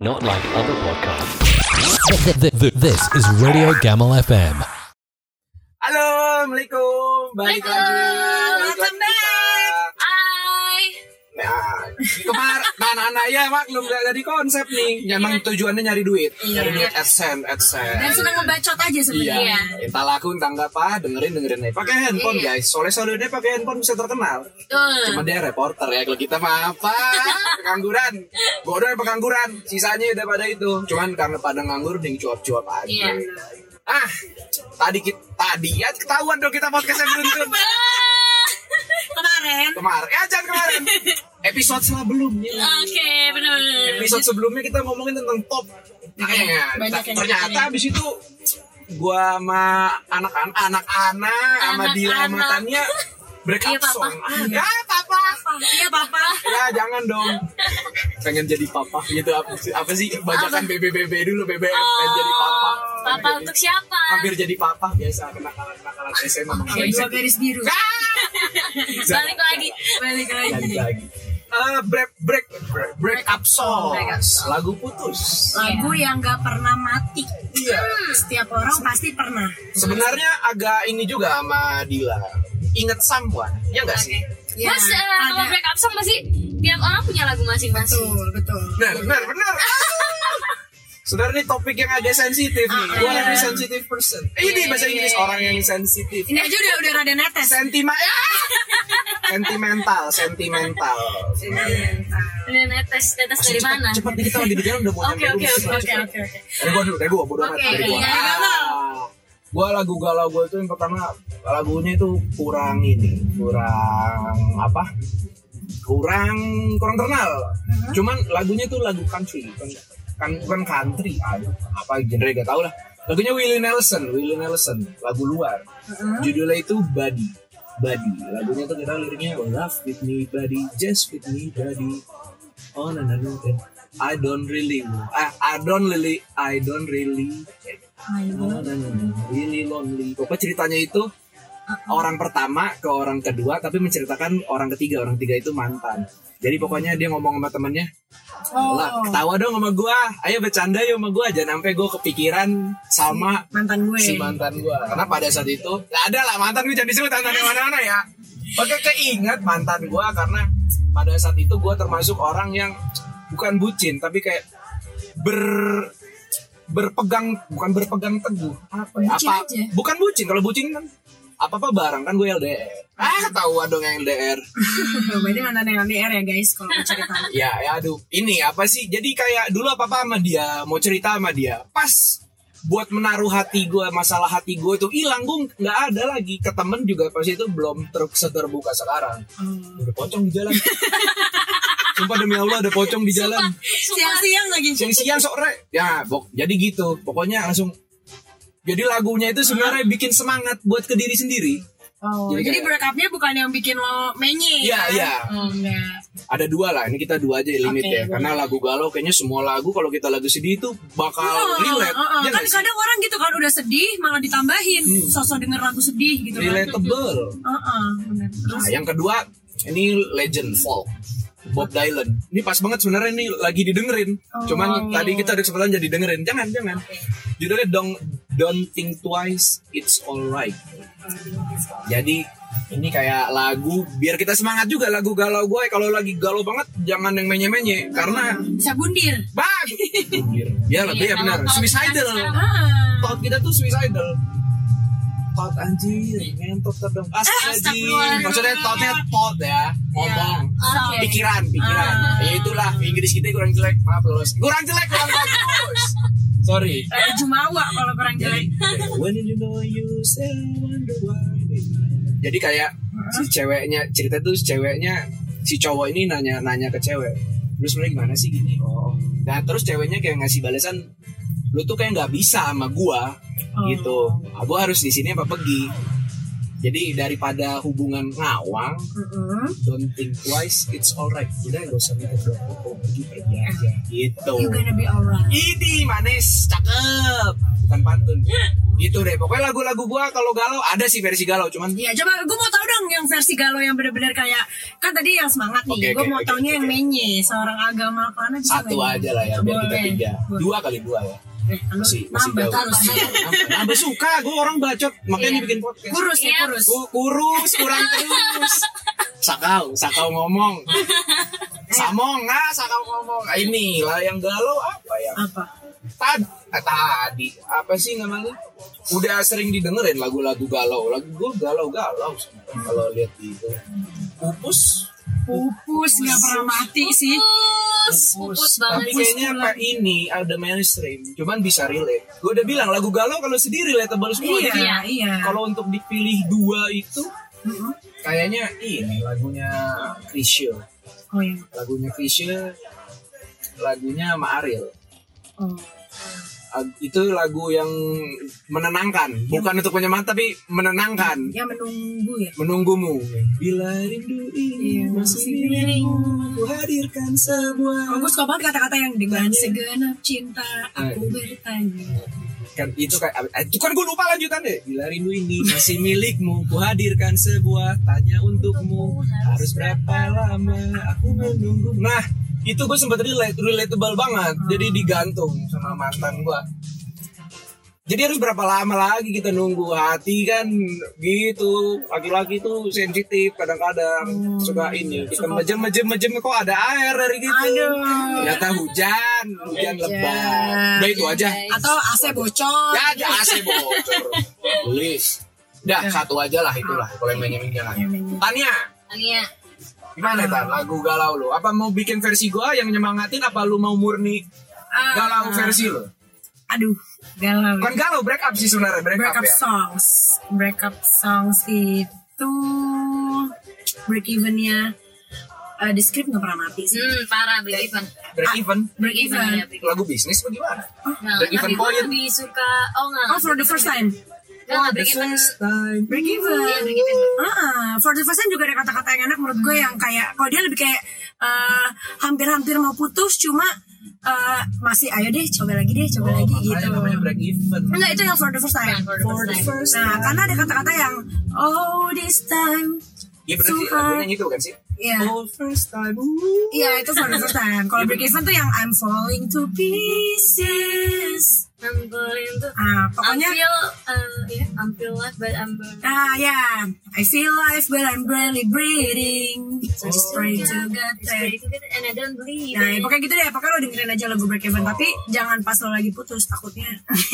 Not like other podcasts. This is Radio Gamal FM. Halo, Assalamualaikum. Balik lagi. Welcome back. Hai. Nah, kemarin, ya maklum gak jadi konsep nih. Memang tujuannya nyari duit. Nyari duit AdSense. Dan senang ngebacot aja sebenarnya. Iya. Entah laku, entah nggak apa, dengerin aja. Pakai handphone guys. Soalnya dia pakai handphone bisa terkenal. Betul. Cuma dia reporter ya. Kalau kita mah apa? Pengangguran. Bodoh ya pengangguran. Sisanya udah pada itu. Cuman karena pada nganggur, nih cuap-cuap aja. Iya. Tadi ya ketahuan dong kita podcastnya beruntun. Kemarin. Jangan kemarin. Episode sebelumnya. Oke, benar. Episode sebelumnya kita ngomongin tentang top. Ternyata abis itu gua sama anak-anak sama Dila sama Tania break up song. Ya papa. Iya papa. Ya jangan dong. Pengen jadi papa gitu apa sih bajakan BBBB dulu BBM pengen jadi papa. Papa untuk siapa? Hampir jadi papa biasa kenakalan SMA. Dua garis biru. Balik lagi. Break up song. Lagu putus. Lagu yang gak pernah mati. Iya. Setiap orang pasti pernah. Sebenarnya agak ini juga sama Dila. Ingat someone, ya nggak sih? Ya, Mas, kalau break up song masih tiap orang punya lagu masing-masing. Betul. Benar. Sebenarnya ini topik yang agak sensitif nih. Gue lebih sensitive person. Ini bahasa Inggris orang yang sensitif. Ini aja udah rada netes. Sentimental. Udah netes dari mana? Cepat nih kita lagi di jalan udah mau Oke. Dari gua bodoh amat dari gua. Gua lagu galau gue itu yang pertama lagunya itu kurang terkenal. Cuman lagunya itu lagu country bukan country, apa genre gak tau lah. Lagunya Willie Nelson, lagu luar. Judulnya itu Buddy. Lagunya tuh kita liriknya love with me buddy, just with me buddy. Oh no. I don't really really lonely. Pokoknya ceritanya itu orang pertama ke orang kedua, tapi menceritakan orang ketiga itu mantan. Jadi pokoknya dia ngomong sama temennya, lah ketawa dong sama gue, ayo bercanda yuk sama gue, jangan sampai gue kepikiran sama si mantan gue. Karena pada saat itu ada lah mantan gue, jangan disebut mantan mana-mana ya. Oke, keinget mantan gue karena pada saat itu gue termasuk orang yang bukan bucin, tapi kayak bukan berpegang teguh. Bukan bucin. Kalau bucin kan apa barang kan gue LDR. Ketahuan dong yang LDR. Berarti mantan yang LDR ya guys kalau mau cerita. Ya aduh. Ini apa sih? Jadi kayak dulu apa sama dia, mau cerita sama dia. Pas buat menaruh hati gue, masalah hati gue itu hilang, gue nggak ada lagi. Ke temen juga pas itu belum terbuka sekarang. Udah pocong di jalan. Sumpah demi Allah ada pocong di jalan. Siang-siang lagi. Siang-siang sore. Ya, jadi gitu. Pokoknya langsung. Jadi lagunya itu sebenarnya bikin semangat buat ke diri sendiri. Jadi break up-nya bukan yang bikin lo menye. Iya. Enggak. Ada dua lah. Ini kita dua aja limit ya. Karena lagu galau kayaknya semua lagu kalau kita lagu sedih itu bakal relate. Ya kan kadang orang gitu kan udah sedih malah ditambahin sosok denger lagu sedih gitu. Relatable. Benar. Nah, yang kedua ini legend folk. Bob Dylan. Ini pas banget sebenarnya ini lagi didengerin. Cuman tadi kita ada kesempatan jadi dengerin. Jangan. Judulnya Don't Think Twice, It's Alright. Jadi ini kayak lagu biar kita semangat juga, lagu galau gue. Kalau lagi galau banget jangan yang menye-menye karena bisa bundir. Bundir. Ya lebih ya benar. Suicidal. Thought kita tuh suicidal. Thought anjir, ngentot terdong. Maksudnya thought ya, ngomong, pikiran. Ya itulah Inggris kita kurang jelek, maaf lolos. Kurang bagus. Sorry. Jumawa kalau kurang jelek. When you know you still wonder why. Jadi kayak si ceweknya, cerita tuh si cowok ini nanya ke cewek. Lu sebenarnya gimana sih gini? Nah terus ceweknya kayak ngasih balasan, lu tuh kayak nggak bisa sama gua. Gitu, gue harus di sini apa pergi. Jadi daripada hubungan ngawang, don't think twice, it's alright. Udah gak usah mikir pergi aja. Gitu. You gonna be alright. Ini manis, cakep. bukan pantun. Gitu deh. Pokoknya lagu-lagu gua kalau galau ada sih versi galau, cuman Iya, coba gue mau tahu dong yang versi galau yang benar-benar kayak kan tadi yang semangat nih. Gue mau taunya yang menye, seorang agama mana bisa satu menye. aja lah ya biar kita Boleh. 3. 2 kali 2 ya. Masih nambah jauh. terus. Nambah suka, gue orang bacot makanya bikin podcast. Kurus ya, kurus. Kurus, kurang terus. Sakau ngomong. Sakau ngomong. Ini lah yang galau apa ya? Apa? Tadi apa sih namanya? Udah sering didengerin lagu-lagu galau. Lagu gue galau sih. Kalau lihat itu. Pupus nggak pernah mati sih. Pupus banget. Tapi kayaknya apa ini ada mainstream, cuman bisa relate. Gue udah bilang lagu galau kalau sedih relatable semua. Jadi Iya. kalau untuk dipilih 2 itu, kayaknya ini lagunya Chrisye. Oh iya. Lagunya Chrisye, lagunya sama Ariel. Oh. Itu lagu yang menenangkan, bukan untuk menyemangat tapi menenangkan. Ya menunggu ya. Menunggumu. Bila rindu ini masih milikmu, ku hadirkan sebuah. Gue suka banget kata-kata yang dengan segenap cinta aku bertanya. Kan itu kan gue lupa lanjutan deh. Bila rindu ini masih milikmu, ku hadirkan sebuah tanya untukmu, harus berapa lama aku menunggu. Nah itu gue sempat relatable banget. Jadi digantung sama mantan gue. Jadi harus berapa lama lagi kita nunggu. Hati kan gitu. Laki-laki tuh sensitif kadang-kadang. Suka ini. Kita mejem kok ada air dari gitu. Ternyata hujan lebat. Udah itu aja. Atau AC bocor. Ya aja AC bocor. Tulis. Udah satu aja lah itulah. Kalau yang menyeminnya lah. Tania. Gimana Tan? Lagu galau lu? Apa mau bikin versi gua yang nyemangatin? Apa lu mau murni galau versi lu? Aduh, galau. Bukan galau, break up sih sebenarnya. Break up ya? Break up songs itu break evennya di script nggak pernah mati sih. Parah break even. Break even. Lagu bisnis apa gimana? Nah, Break even tapi gue point. lebih suka For the first time. break even. Break even. Iya, break even. For the first time juga ada kata-kata yang enak menurut gue yang kayak kalau dia lebih kayak hampir-hampir mau putus cuma masih ayo deh coba lagi gitu. Namanya break even. Enggak, itu yang for the first time. For the first time. Nah, karena ada kata-kata yang oh this time. Iya benar sih, lagunya itu kan sih. Iya. Oh first time. Iya, itu for the first time. Kalau break even tuh yang I'm falling to pieces. I'm falling to. Pokoknya I'm feel life but I'm burning. yeah. I feel life but I'm barely breathing. So just pray to God that. And I don't believe. Nah, pokoknya gitu deh. Pokoknya lo dengerin aja lagu Break Even. Tapi jangan pas lo lagi putus, takutnya.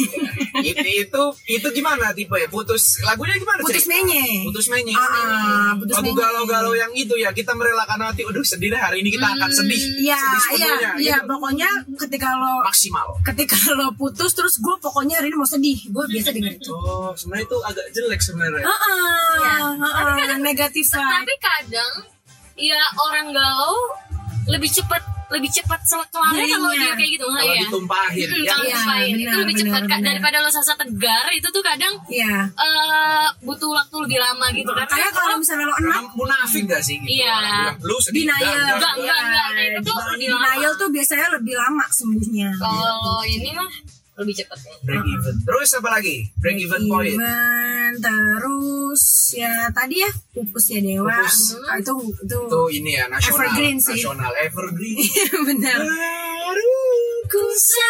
itu gimana tipe ya? Putus lagunya gimana? Putus menye. Putus menye. Putus Lagu menye. galau-galau yang itu ya, kita merelakan hati. Aduh sedih deh, hari ini kita akan sedih. Iya. Pokoknya ketika maksimal. lo putus terus gue pokoknya hari ini mau sedih. Gue biasa denger itu. Oh, sebenarnya itu agak jelek sebenarnya. Negatif vibe. Tapi kadang ya orang galau lebih cepat kelarnya kalau dia kayak gitu nggak Kalau ya? ditumpahin. Kalau ditumpahin itu lebih cepat benar. daripada lo sasa tegar itu tuh kadang Iya. butuh waktu lebih lama gitu kan? Kayak kalau misalnya lo enak, Munafik gak sih gitu? Iya. Bilang, lu sedih. denial. Enggak. Nah, itu tuh lebih lama. Denial tuh biasanya lebih lama sembuhnya. Kalau ini mah lebih cepat ya. Break even. Terus apa lagi? Break even point. Terus ya tadi ya pupus ya Dewa. Pupus. Itu Itu ini ya nasional. Evergreen sih. Nasional evergreen. benar. Ku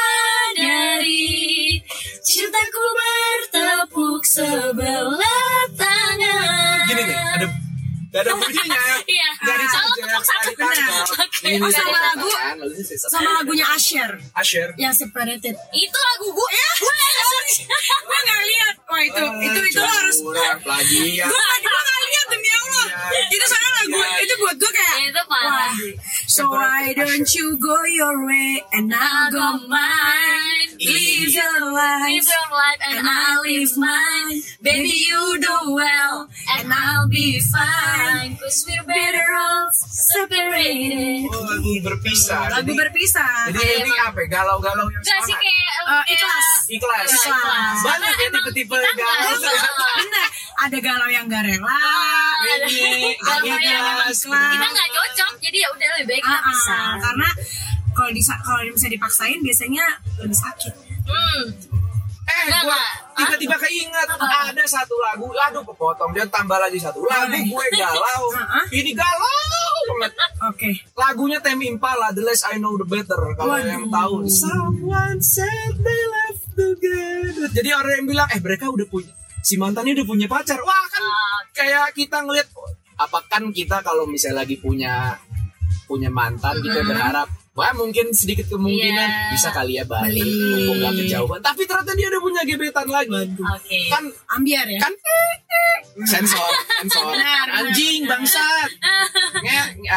sadari cintaku bertepuk sebelah tangan. Gini nih, ada bunyinya ya. Iya. Dari Salah tepuk satu. Ini sama lagu. Sama lagunya Asher Asher. yang Separated. Itu lagu gue Gue nggak lihat. Wah itu lo harus. Plagiat. Gue nggak lihat demi Allah. Itu soalnya lagu itu buat gue kayak. Itu parah. So why don't you go your way and I'll go mine. Live your life and and I'll live mine. Baby you do well and I'll be fine. 'Cause we're Better off separated. Oh, lagu berpisah. Lagu berpisah. Jadi ini apa? Galau-galau yang Gak sih semangat. kayak Ikhlas. Ikhlas. Banyak ya tipe-tipe galau. Bener. Ada galau yang gak rela. Ini galau yang ikhlas. kita nggak cocok, jadi ya udah lebih baik kita pisah. Karena kalau bisa dipaksain biasanya lebih sakit. gue tiba-tiba keinget ada satu lagu, aduh kepotong dia tambah lagi satu lagu gue galau, ini galau banget. Oke. Lagunya Tame Impala, The Less I Know The Better. Kalau yang tahu, someone said they left together. Jadi orang yang bilang, mereka udah punya, si mantannya udah punya pacar. Wah kan kayak kita ngeliat, apa kan kita kalau misalnya lagi punya mantan, kita berharap wah mungkin sedikit kemungkinan bisa kali ya balik, mumpung gak kejauhan. Tapi ternyata dia udah punya gebetan lagi. Kan ambiar ya. Kan sensor. Anjing bangsat. Ngehe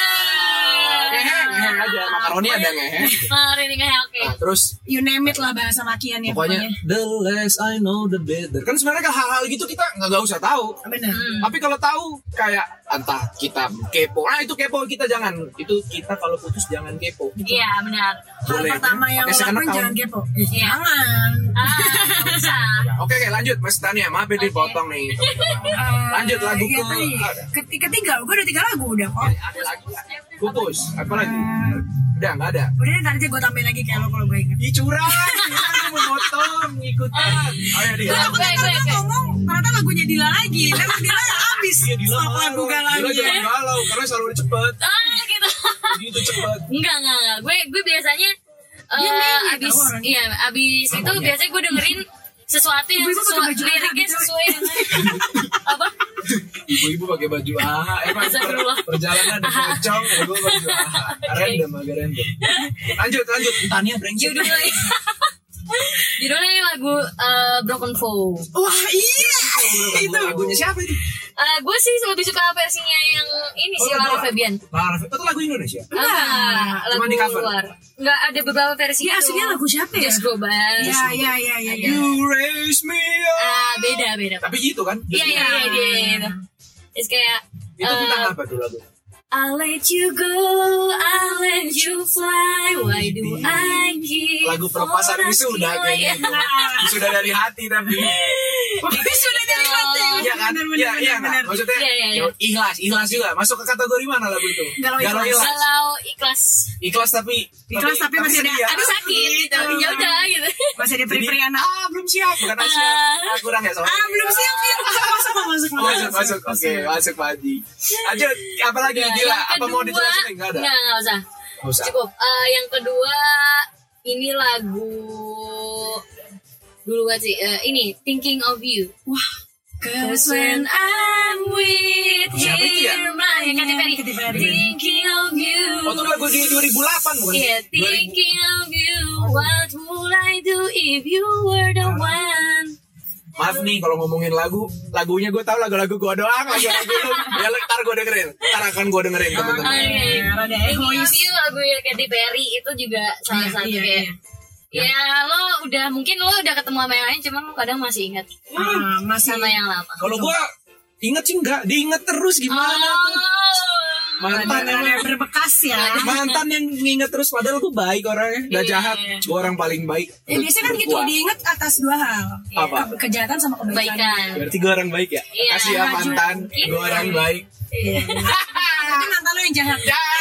aja. Makaroni ada ngehe. Makaroni ngehe, oke. Nah, terus You name it lah bahasa makian ya. pokoknya the less I know the better. Kan sebenarnya hal-hal gitu kita nggak usah tahu. Benar. Tapi kalau tahu kayak entah kita kepo, itu kepo kita jangan. Itu kita kalau putus jangan kepo. Iya benar. Hal pertama yang lo lakuin jangan kepo. Jangan. Bisa. Oke, lanjut Mas Tania. Maaf ya dipotong nih. Lanjut lagu ketiga. Gue udah 3 lagu udah kok. Ada lagi. Putus. Apa lagi? Udah nggak ada. Udah ntar aja gue tambahin lagi kayak lo kalau gue inget. Ih curang. Kita mau motong ngikutan. Ayo dia. Gue ngomong ternyata lagunya Dila lagi. Memang Dila habis. Iya Dila lagu galau. Dila jangan galau karena selalu cepet. Gitu. Gitu cepet. Enggak. Gue biasanya abis itu biasanya gue dengerin sesuatu yang liriknya sesuai dengan apa? Ibu-ibu pakai baju perjalanan ada pocong, gue baju random. Lanjut Tania brengsek. Judulnya lagu Broken Vow. Wah iya. Itu lagunya siapa itu? Gue sih lebih suka versinya yang ini sih, Lara Fabian. Itu lagu Indonesia? Lagu di cover? luar. Enggak, ada beberapa versi. Ya aslinya lagu siapa ya? Just Go By. Iya. You raise me up. Beda. Tapi gitu kan? Iya dia. Terus kayak itu tentang apa tuh lagu? I'll let you go, I'll let you fly. Why do I keep lagu pelepasan wisuda kayaknya itu. Wisuda dari hati tapi. Wisuda dari hati. Iya kan? Iya. Maksudnya ikhlas juga. Masuk ke kategori mana lagu itu? Galau ikhlas. Galau ikhlas. Ikhlas tapi masih ada sakit gitu. Ya udah gitu. Masih ada peri-perian. Belum siap. Bukan siap. Kurang ya soalnya. Belum siap. Masuk. Oke, masuk Pak Haji. Lanjut. Apa lagi? Gila, apa mau dijelasin? Enggak ada. Enggak usah. Cukup. Yang kedua ini lagu dulu sih. Ini Thinking of You. Wah. Cause when I'm with siapa itu ya? Katy Perry. Thinking of you. Oh, itu lagu di 2008 bukan? Iya, Thinking of you. What would I do if you were the one? Maaf nih kalau ngomongin lagunya gue tahu lagu-lagu gue doang, lagu-lagu lu. Ya ntar gue dengerin. Ntar akan gue dengerin teman-teman. Thinking of you lagu Katy Perry itu juga salah satu kayak. Ya lo mungkin lo udah ketemu sama yang lain, cuman lo kadang masih ingat sama yang lama. Kalau gue inget sih enggak, diinget terus gimana? Mantan yang berbekas ya. Mantan yang nginget terus padahal gue baik orangnya, gak jahat. Gue orang paling baik. Biasanya kan gitu, diinget atas 2 hal. Apa? Kejahatan sama kebaikan. Berarti gue orang baik ya? Kasih ya mantan, gue orang baik. Tapi mantan lo yang jahat.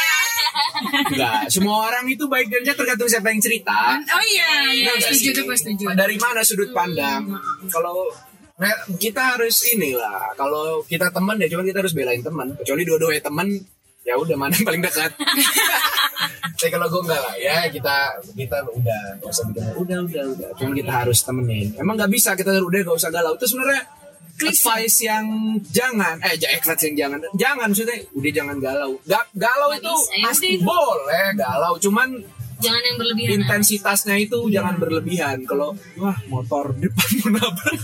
Enggak, semua orang itu baik dan jahat tergantung siapa yang cerita. Oh iya, setuju. Dari mana sudut pandang? Kalau kita harus inilah, kalau kita teman ya cuma kita harus belain teman. Kecuali dua-duanya teman, ya udah mana yang paling dekat. Tapi kalau gue enggak lah, ya kita udah nggak usah bikin udah. Cuma kita harus temenin. Emang nggak bisa kita udah nggak usah galau. Itu sebenarnya advice yang jangan maksudnya udah jangan galau. Galau gak itu bisa, pasti boleh galau, cuman jangan yang berlebihan. Intensitasnya itu jangan berlebihan. Kalau wah motor depan menabrak.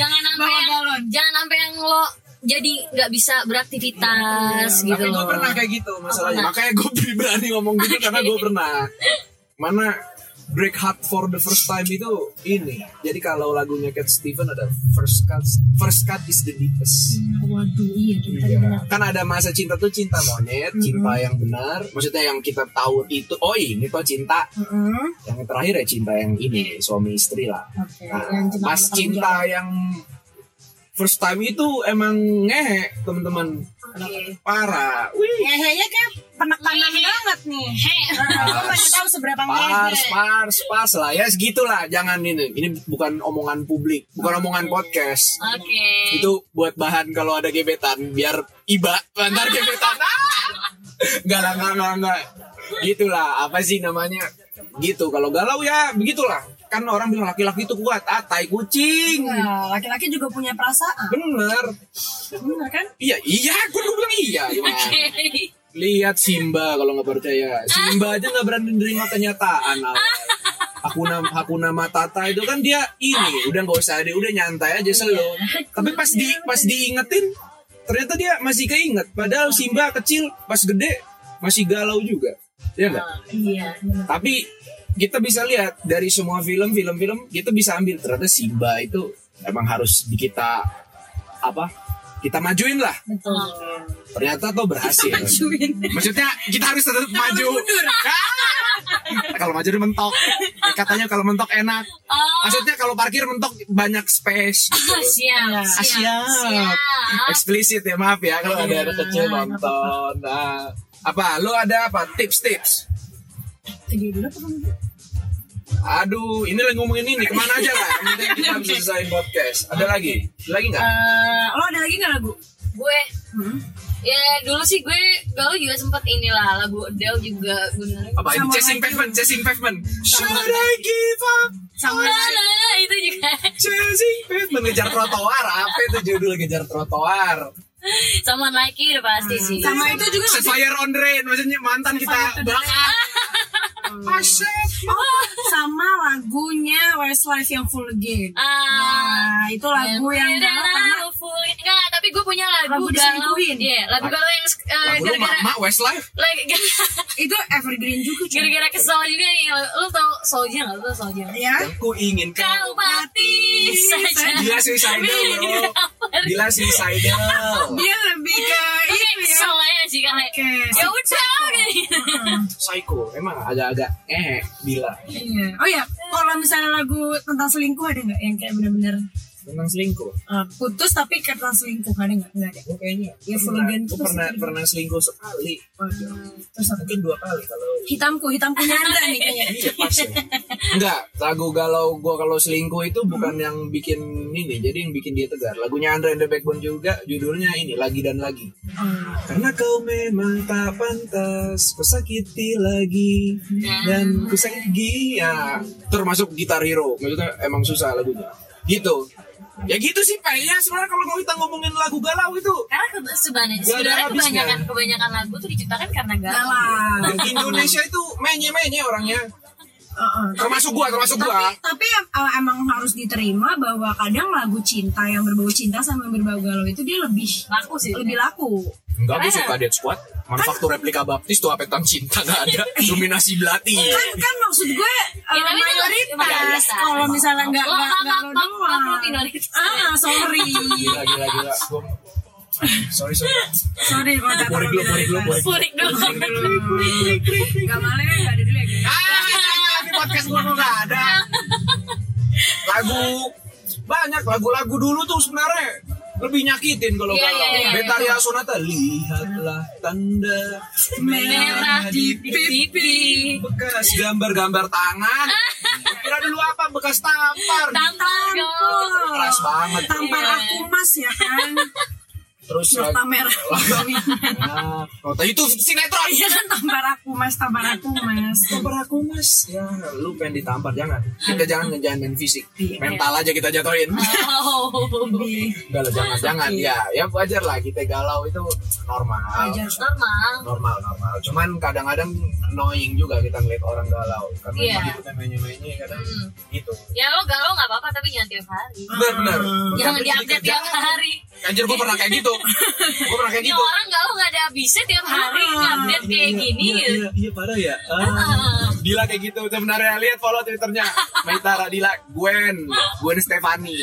jangan sampai yang lo jadi nggak bisa beraktivitas gitu. Tapi gue pernah kayak gitu masalahnya. Makanya gue berani ngomong gitu karena gue pernah. Mana Break Heart for the First Time itu ini. Jadi kalau lagunya Cat Stevens ada First Cut is the Deepest. Waduh, iya. Kan ada masa cinta tuh cinta monyet, cinta yang benar. Maksudnya yang kita tahu itu, oh ini tuh cinta. Yang terakhir ya cinta yang ini, suami istri lah. Nah, pas cinta yang first time itu emang ngehe teman-teman. Parah. Wih. Ngehenya kayak penekanan banget nih. Gue pengen tahu seberapa Pars lah ya segitulah. Jangan ini bukan omongan publik, bukan omongan podcast. Oke. Itu buat bahan kalau ada gebetan biar iba antar gebetan. Enggak. Gitulah, apa sih namanya? Gitu. Kalau galau ya begitulah. Kan orang bilang laki-laki itu kuat, tai kucing. Nah, laki-laki juga punya perasaan. Bener kan? Iya, gue bilang iya. Oke. Lihat Simba kalau nggak percaya. Simba aja nggak berani menerima kenyataan. Hakuna Matata itu kan dia ini udah nggak usah udah nyantai aja slow. Tapi pas diingetin ternyata dia masih keinget. Padahal Simba kecil pas gede masih galau juga. Ya enggak? Iya. Tapi kita bisa lihat dari semua film kita bisa ambil ternyata Simba itu emang harus kita majuin lah. Betul. Ternyata tuh berhasil. Maksudnya kita harus tetap maju. Kalau maju mentok. Katanya kalau mentok enak. Maksudnya kalau parkir mentok banyak space. Siap. Eksplisit ya, maaf ya kalau ada anak kecil nonton. Nah, lu ada apa tips? Aduh, ini lagi ngomongin ini kemana aja lah. Nanti kita bisa selesai podcast. Ada lagi nggak? Lo ada lagi nggak lagu? Gue, ya dulu sih gue galau juga sempet inilah lagu Adele juga bener. Apa ini? Chasing Pavement. Should I give up? Sama itu juga. Chasing Pavement, ngejar trotoar. Apa itu judul ngejar trotoar? Sama Nike udah pasti sih. Sama itu juga. Set Fire on the Rain, maksudnya mantan kita banget. Sama lagunya Westlife yang Full Again. Nah, itu lagu yang galau karena enggak, tapi gue punya lagu galau. Iya, lagu galau yang gara-gara Mama Westlife. Itu evergreen juga. Gara-gara kesel juga nih. Lu tau Soulja enggak? Lu tau Soulja? Ya. Aku ingin kau mati saja. Dia suicidal, bro. Dia suicidal. Dia lebih ke itu ya. Soalnya sih kan. Ya udah gitu. Psycho, emang agak-agak bila. Iya. Oh ya, kalau misalnya lagu tentang selingkuh ada nggak yang kayak benar-benar tentang selingkuh? Putus tapi tentang selingkuh ada nggak? Nggak ada. Kayaknya. Ya Full Again tuh pernah selingkuh sekali. Terus mungkin 2 kali kalau. Hitamku Nyandra nih kayaknya. Iya pas ya. Enggak, lagu galau gua kalau selingkuh itu bukan yang bikin ini, jadi yang bikin dia tegar. Lagunya Andra and the Backbone juga, judulnya ini Lagi dan Lagi. Karena kau memang tak pantas kusakiti lagi dan kusakiti ya. Termasuk Gitar Hero, maksudnya emang susah lagunya. Gitu. Ya gitu sih Pak. Ya sebenarnya kalau kita ngomongin lagu galau itu karena sebenarnya kebanyakan lagu tuh diciptakan karena galau. Di Indonesia itu menye orangnya. Termasuk gua. Tapi emang harus diterima bahwa kadang lagu cinta yang berbau cinta sama yang berbau galau itu dia lebih laku. Enggak, gue suka Dead Squad. Manufaktur replika baptis tuh apa tentang cinta gak ada. Dominasi belati. Kan maksud gue mayoritas. Kalau misalnya nggak lo doang. Sorry. Gila. Sorry. Sorry kalau jatuh. Purik dulu. Gak malah nggak ada dulu ya guys. Di podcast gue nggak ada. Banyak lagu dulu tuh sebenarnya lebih nyakitin kalau Betaria Sonata. Lihatlah tanda merah di pipi, bekas gambar tangan. Kira dulu apa? Bekas tampar. Keras banget. Tampar aku mas ya kan. Terus nota merah. Nota itu sinetron. Iya kan tampar aku mas. Ya lu pengen ditampar jangan. Kita jangan main fisik. Mental aja kita jatuhin. Enggak lah jangan. Ya wajar lah kita galau itu normal. Normal. Cuman kadang-kadang annoying juga kita ngeliat orang galau. Karena gitu kan menye kadang gitu. Ya lo galau enggak apa-apa tapi jangan tiap hari. Benar. Jangan diupdate tiap hari. Anjir gue pernah kayak gitu. Ini orang galau gak ada habisnya tiap hari update kayak gini. Iya parah ya. Dila kayak gitu. Sebenarnya lihat follow Twitternya Maitara Dila Gwen Stefani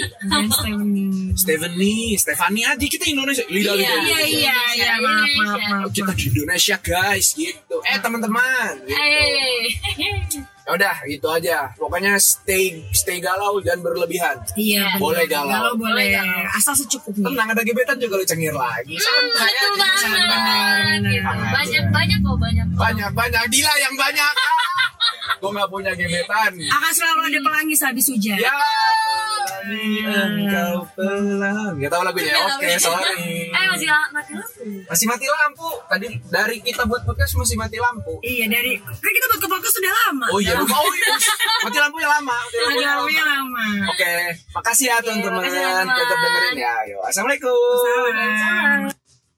aja kita Indonesia. Iya maaf. Kita di Indonesia guys gitu. Teman-teman gitu. Udah gitu aja. Pokoknya stay galau dan berlebihan. Iya. Boleh galau. Boleh. Asal secukupnya. Tenang, ada gebetan juga lu cengir lagi. Santai Betul aja. banget. Gitu. Banyak. Dila yang banyak. Gue gak punya gebetan. Akan selalu ada pelangis habis hujan. Ya. Engkau pelang. Gak tau lagunya. Oke, sorry. Masih mati lampu. Tadi dari kita buat podcast masih mati lampu. Iya, kan kita buat ke podcast sudah lama. Oh iya, lupa. Mati lampunya lama. lama. Oke, makasih ya teman-teman. Tetap dengerin ya. Ayo, assalamualaikum. Salam.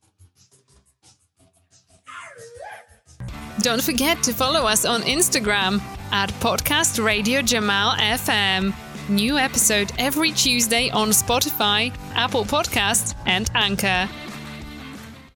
Don't forget to follow us on Instagram at Podcast Radio Jamal FM. New episode every Tuesday on Spotify, Apple Podcasts, and Anchor.